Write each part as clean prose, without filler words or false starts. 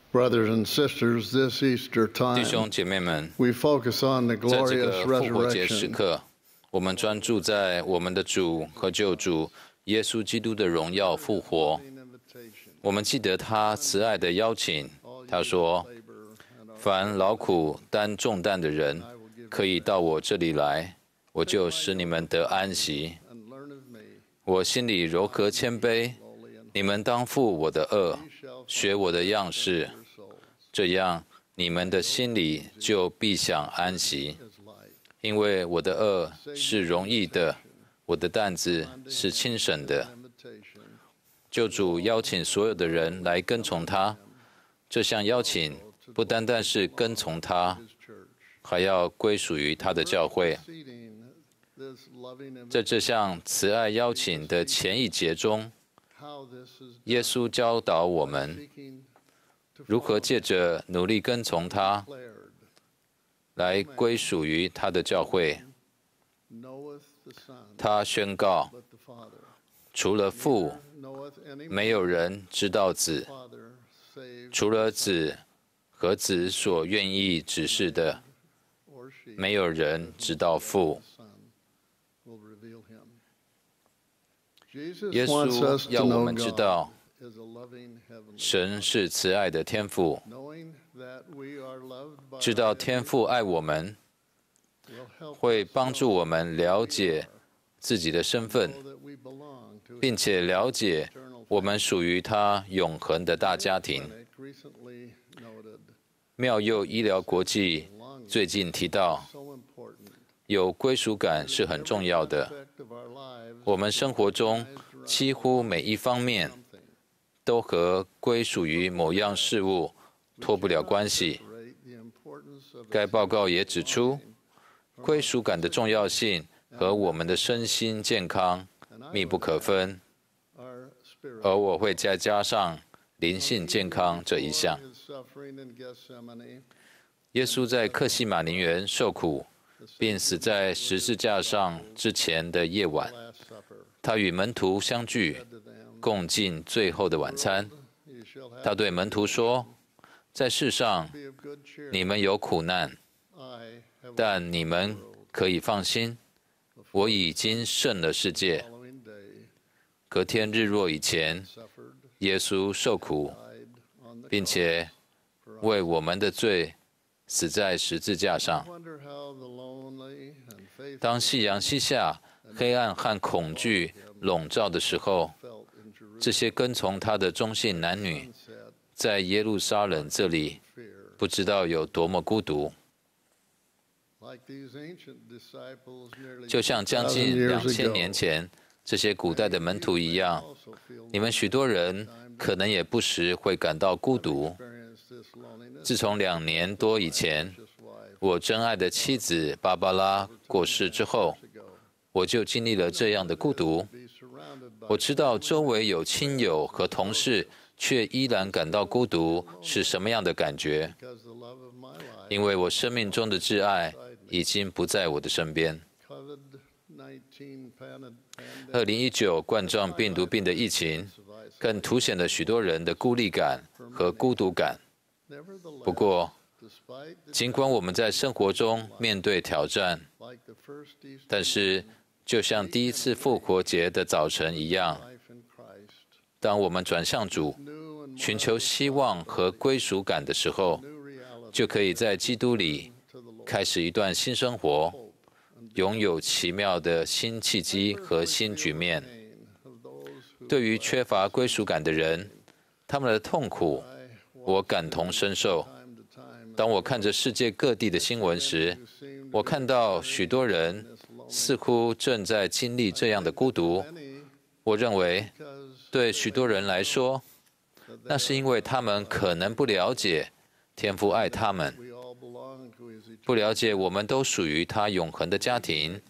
Brothers and sisters, this Easter 弟兄 time, 姐妹们， we focus on the 在这 glorious 个复活节时 resurrection. 刻，我们专注在我們的主和救主耶穌基督的榮耀復活。我們記得他慈愛的邀請，他說：“凡勞苦擔重擔的人，可以到我這裡來，我就使你們得安息。我心裡柔和謙卑，你們當負我的軛，學我的樣式，這樣你們的心裡就必享安息。因為我的軛是容易的，我的擔子是輕省的。”救主邀請所有的人來跟從他，這項邀請不單單是跟從他，還要歸屬於他的教會。在這項慈愛邀請的前一節中，耶穌教導我們如何借着努力跟從他，來歸屬於他的教會。他宣告，除了父，沒有人知道子，除了子和子所願意指示的，沒有人知道父。耶穌要我們知道，神是慈愛的天父，知道天父愛我們，會幫助我們了解自己的身份，並且了解我們屬於他永恆的大家庭。妙佑醫療國際最近提到，有歸屬感是很重要的。我們生活中幾乎每一方面都和歸屬於某樣事物脫不了關係。該報告也指出，歸屬感的重要性和我們的身心健康密不可分，而我會再加上靈性健康這一項。耶穌在客西馬尼園受苦並死在十字架上之前的夜晚，他與門徒相聚，共進最後的晚餐。他對門徒說：“在世上你們有苦難，但你們可以放心，我已經勝了世界。”隔天日落以前，耶穌受苦，並且為我們的罪死在十字架上。當夕陽西下，黑暗和恐懼籠罩的時候，這些跟從他的中信男女，在耶路撒冷這裡，不知道有多麼孤獨。就像將近2000年前這些古代的門徒一樣，你們許多人可能也不時會感到孤獨。自從2年多以前，我真愛的妻子芭芭拉過世之後，我就經歷了這樣的孤獨。我知道周圍有親友和同事，卻依然感到孤獨是什麼樣的感覺，因為我生命中的摯愛已經不在我的身邊。2019冠狀病毒病的疫情，更凸顯了許多人的孤立感和孤獨感。不過，儘管我們在生活中面對挑戰，但是就像第一次復活節的早晨一樣，當我們轉向主，尋求希望和歸屬感的時候，就可以在基督裡開始一段新生活，擁有奇妙的新契機和新局面。對於缺乏歸屬感的人，他們的痛苦，我感同身受。當我看着世界各地的新聞時，我看到許多人似乎正在經歷這樣的孤獨。我認為，對許多人來說，那是因為他們可能不了解天父愛他們，不了解我們都屬於他永恆的家庭，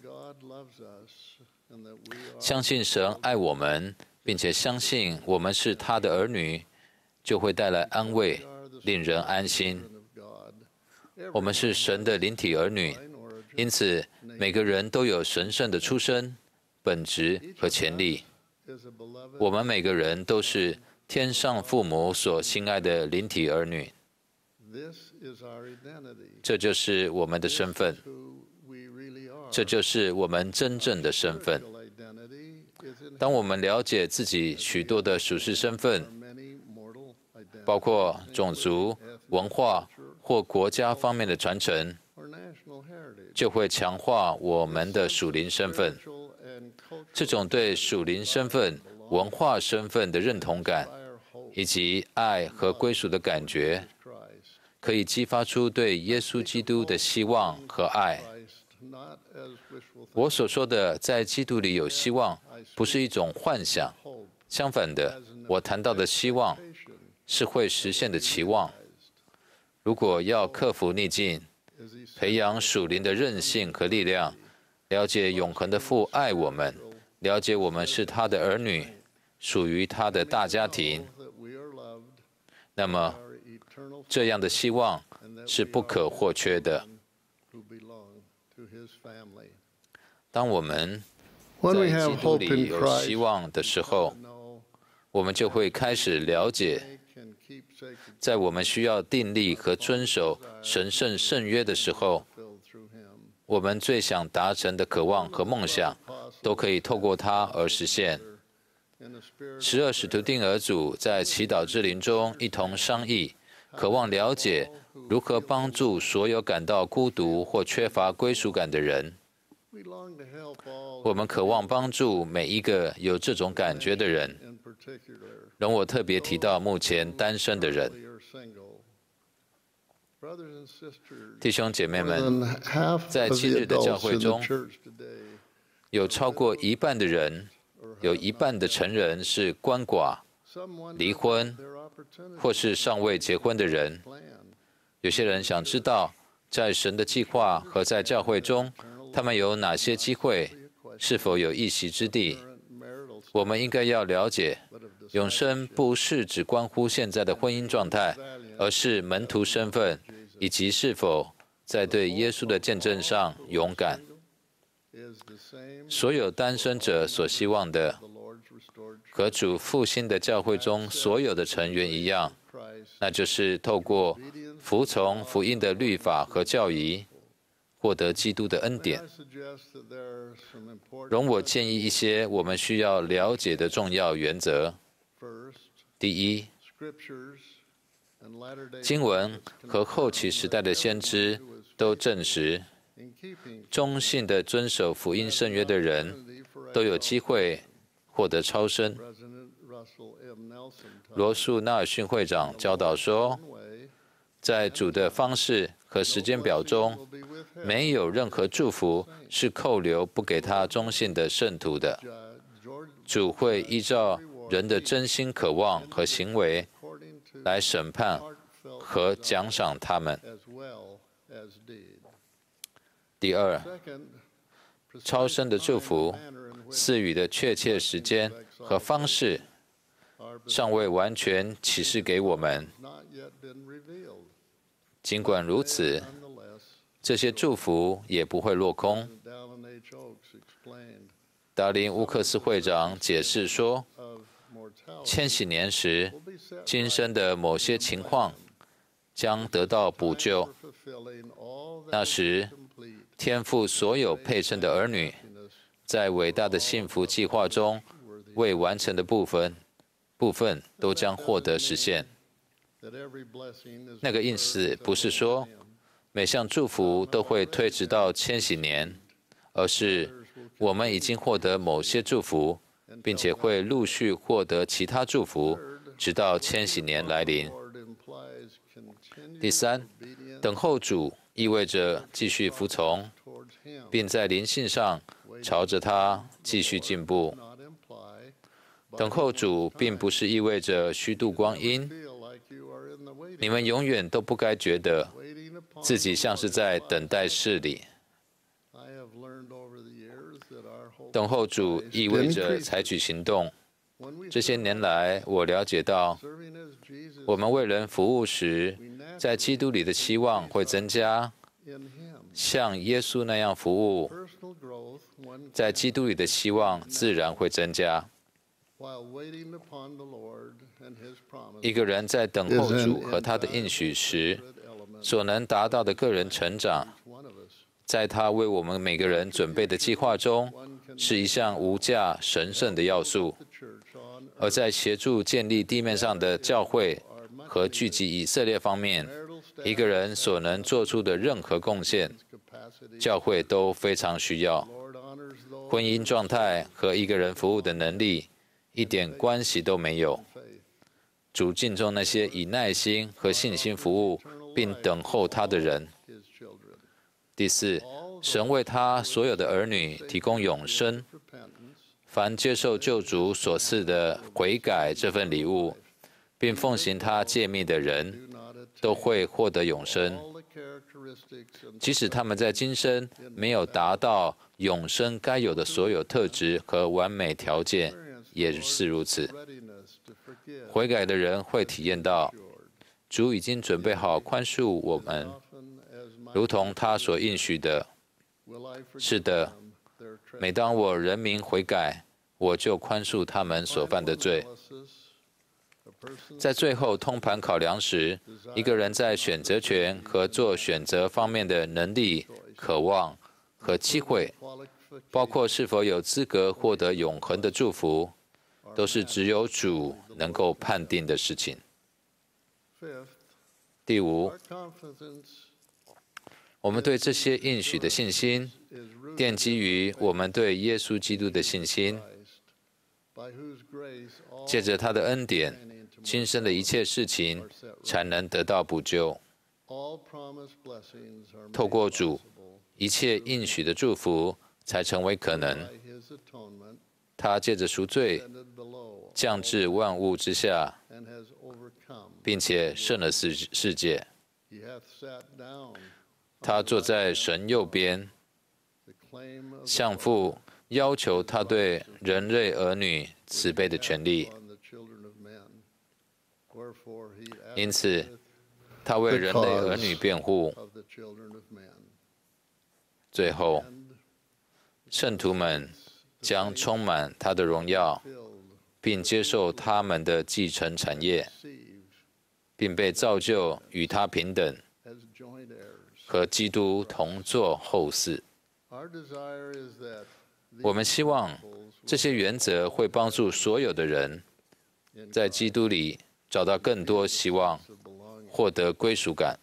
相信神愛我們，並且相信我們是他的兒女，就會帶來安慰，令人安心。我們是神的靈體兒女，因此每個人都有神聖的出身、本質和潛力。我們每個人都是天上父母所心愛的靈體兒女。這就是我們的身份，這就是我們真正的身份。當我們了解自己許多的屬世身份，包括種族、文化或國家方面的傳承，就會強化我們的屬靈身份。這種對屬靈身份、文化身份的認同感，以及愛和歸屬的感覺，可以激發出對耶穌基督的希望和愛。我所說的在基督裡有希望，不是一種幻想，相反的，我談到的希望是會實現的期望。如果要克服逆境，培養屬靈的韌性和力量，了解永恆的父愛我們，了解我們是他的兒女，屬於他的大家庭，那麼這樣的希望是不可或缺的。當我們在基督裡有希望的時候，我們就會開始了解，在我們需要訂立和遵守神聖聖約的時候，我們最想達成的渴望和夢想，都可以透過它而實現。12使徒丁兒組在祈禱之靈中一同商議，渴望了解如何幫助所有感到孤獨或缺乏歸屬感的人。我們渴望幫助每一個有這種感覺的人。容我特別提到目前單身的人。弟兄姐妹們，在今日的教會中，有超過一半的人，有一半的成人是鰥寡、離婚，或是尚未結婚的人。有些人想知道，在神的計劃和在教會中，他們有哪些機會，是否有一席之地？我們應該要了解，永生不是只關乎現在的婚姻狀態，而是門徒身份，以及是否在對耶穌的見證上勇敢。所有單身者所希望的，和主復興的教會中所有的成員一樣，那就是透過服從福音的律法和教義，獲得基督的恩典。容我建議一些我們需要了解的重要原則。第一，經文和後期時代的先知都證實，忠信地遵守福音聖約的人都有機會獲得超生。羅素·納爾遜會長教導說，在主的方式和時間表中，沒有任何祝福是扣留不給他忠信的聖徒的。主會依照人的真心渴望和行為來審判和獎賞他們。第二，超生的祝福賜予的確切時間和方式尚未完全啟示給我們。儘管如此，這些祝福也不會落空。達林·烏克斯會長解釋說，千禧年時，今生的某些情況將得到補救。那時，天父所有配稱的兒女，在偉大的幸福計劃中未完成的部分都將獲得實現。那個意思不是說每項祝福都會推遲到千禧年，而是我們已經獲得某些祝福，並且會陸續獲得其他祝福，直到千禧年來臨。第三，等候主意味着繼續服從，並在靈性上朝着他繼續進步。等候主並不是意味着虛度光陰。你們永遠都不該覺得自己像是在等待室裡。等候主意味着採取行動。這些年來，我了解到，我們為人服務時，在基督裡的期望會增加，像耶穌那樣服務，在基督裡的希望自然會增加。 一個人在等候主和他的應許時，所能達到的個人成長，在他為我們每個人準備的計劃中，是一項無價神聖的要素。而在協助建立地面上的教會和聚集以色列方面，一個人所能做出的任何貢獻，教會都非常需要。婚姻狀態和一個人服務的能力一點關係都沒有。主敬重那些以耐心和信心服務並等候他的人。第四，神為他所有的兒女提供永生。凡接受救主所賜的悔改這份禮物，並奉行他誡命的人，都會獲得永生。即使他們在今生沒有達到永生該有的所有特質和完美條件，也是如此。悔改的人會體驗到，主已經準備好寬恕我們，如同他所應許的。是的，每當我人民悔改，我就寬恕他們所犯的罪。在最後通盤考量時，一個人在選擇權和做選擇方面的能力、渴望和機會，包括是否有資格獲得永恆的祝福，都是只有主能夠判定的事情。第五，我們對這些應許的信心，奠基於我們對耶穌基督的信心。借着他的恩典，今生的一切事情才能得到補救。透過主，一切應許的祝福才成為可能。他借着贖罪，降至萬物之下，並且勝了世界。他坐在神右邊，向父要求他對人類兒女慈悲的權利。因此，他為人類兒女辯護。最後，聖徒們將充滿他的榮耀，並接受他們的繼承產業，並被造就與他平等，和基督同作後嗣。我們希望這些原則會幫助所有的人在基督裡找到更多希望，獲得歸屬感。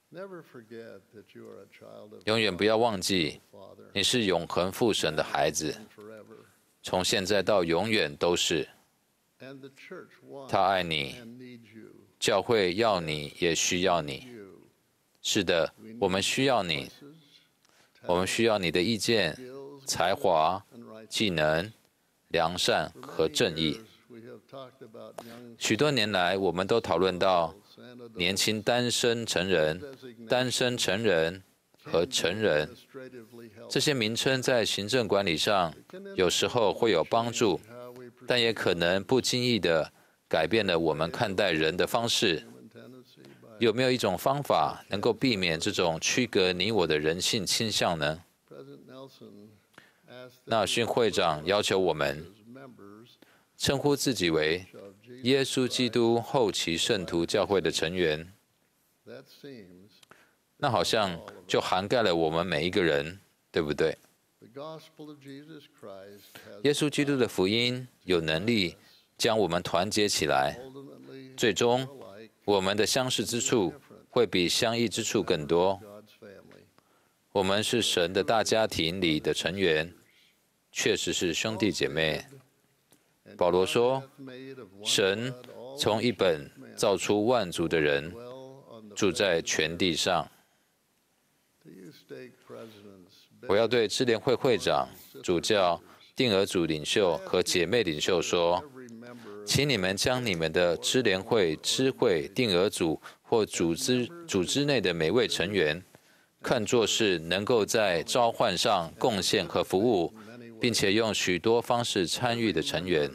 永遠不要忘記，你是永恆父神的孩子，從現在到永遠都是。他愛你，教會要你，也需要你。是的，我們需要你。我們需要你的意見、才華、技能、良善和正義。許多年來，我們都討論到年輕單身成人、單身成人和成人。這些名稱在行政管理上有時候會有幫助，但也可能不經意地改變了我們看待人的方式。有沒有一種方法能夠避免這種區隔你我的人性傾向呢？納遜會長要求我們稱呼自己為耶穌基督後期聖徒教會的成員，那好像就涵蓋了我們每一個人，對不對？耶穌基督的福音有能力將我們團結起來，最終我們的相似之處會比相異之處更多。我們是神的大家庭裡的成員，確實是兄弟姐妹。保羅說，神從一本造出萬族的人，住在全地上。我要對支聯會會長、主教、定額組領袖和姐妹領袖說，請你們將你們的支聯會、支會、定額組或組織內的每位成員，看作是能夠在召喚上貢獻和服務，並且用許多方式參與的成員。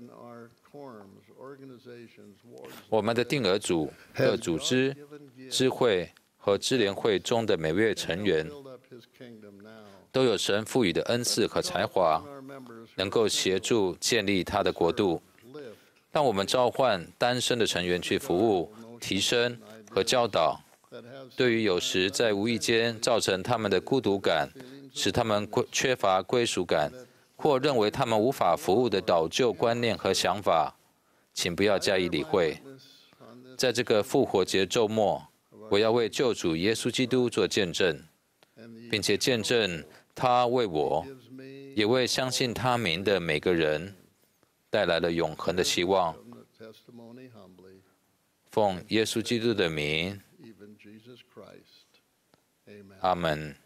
我們的定額組、各組織、支會和支聯會中的每位成員，都有神賦予的恩賜和才華，能夠協助建立他的國度。 當我們召喚單身的成員去服務、提升和教導，對於有時在無意間造成他們的孤獨感，使他們缺乏歸屬感，或認為他們無法服務的導救觀念和想法，請不要加以理會。在這個復活節週末，我要為救主耶穌基督做見證，並且見證他為我，也為相信他名的每個人帶來了永恆的希望。奉耶穌基督的名，阿們。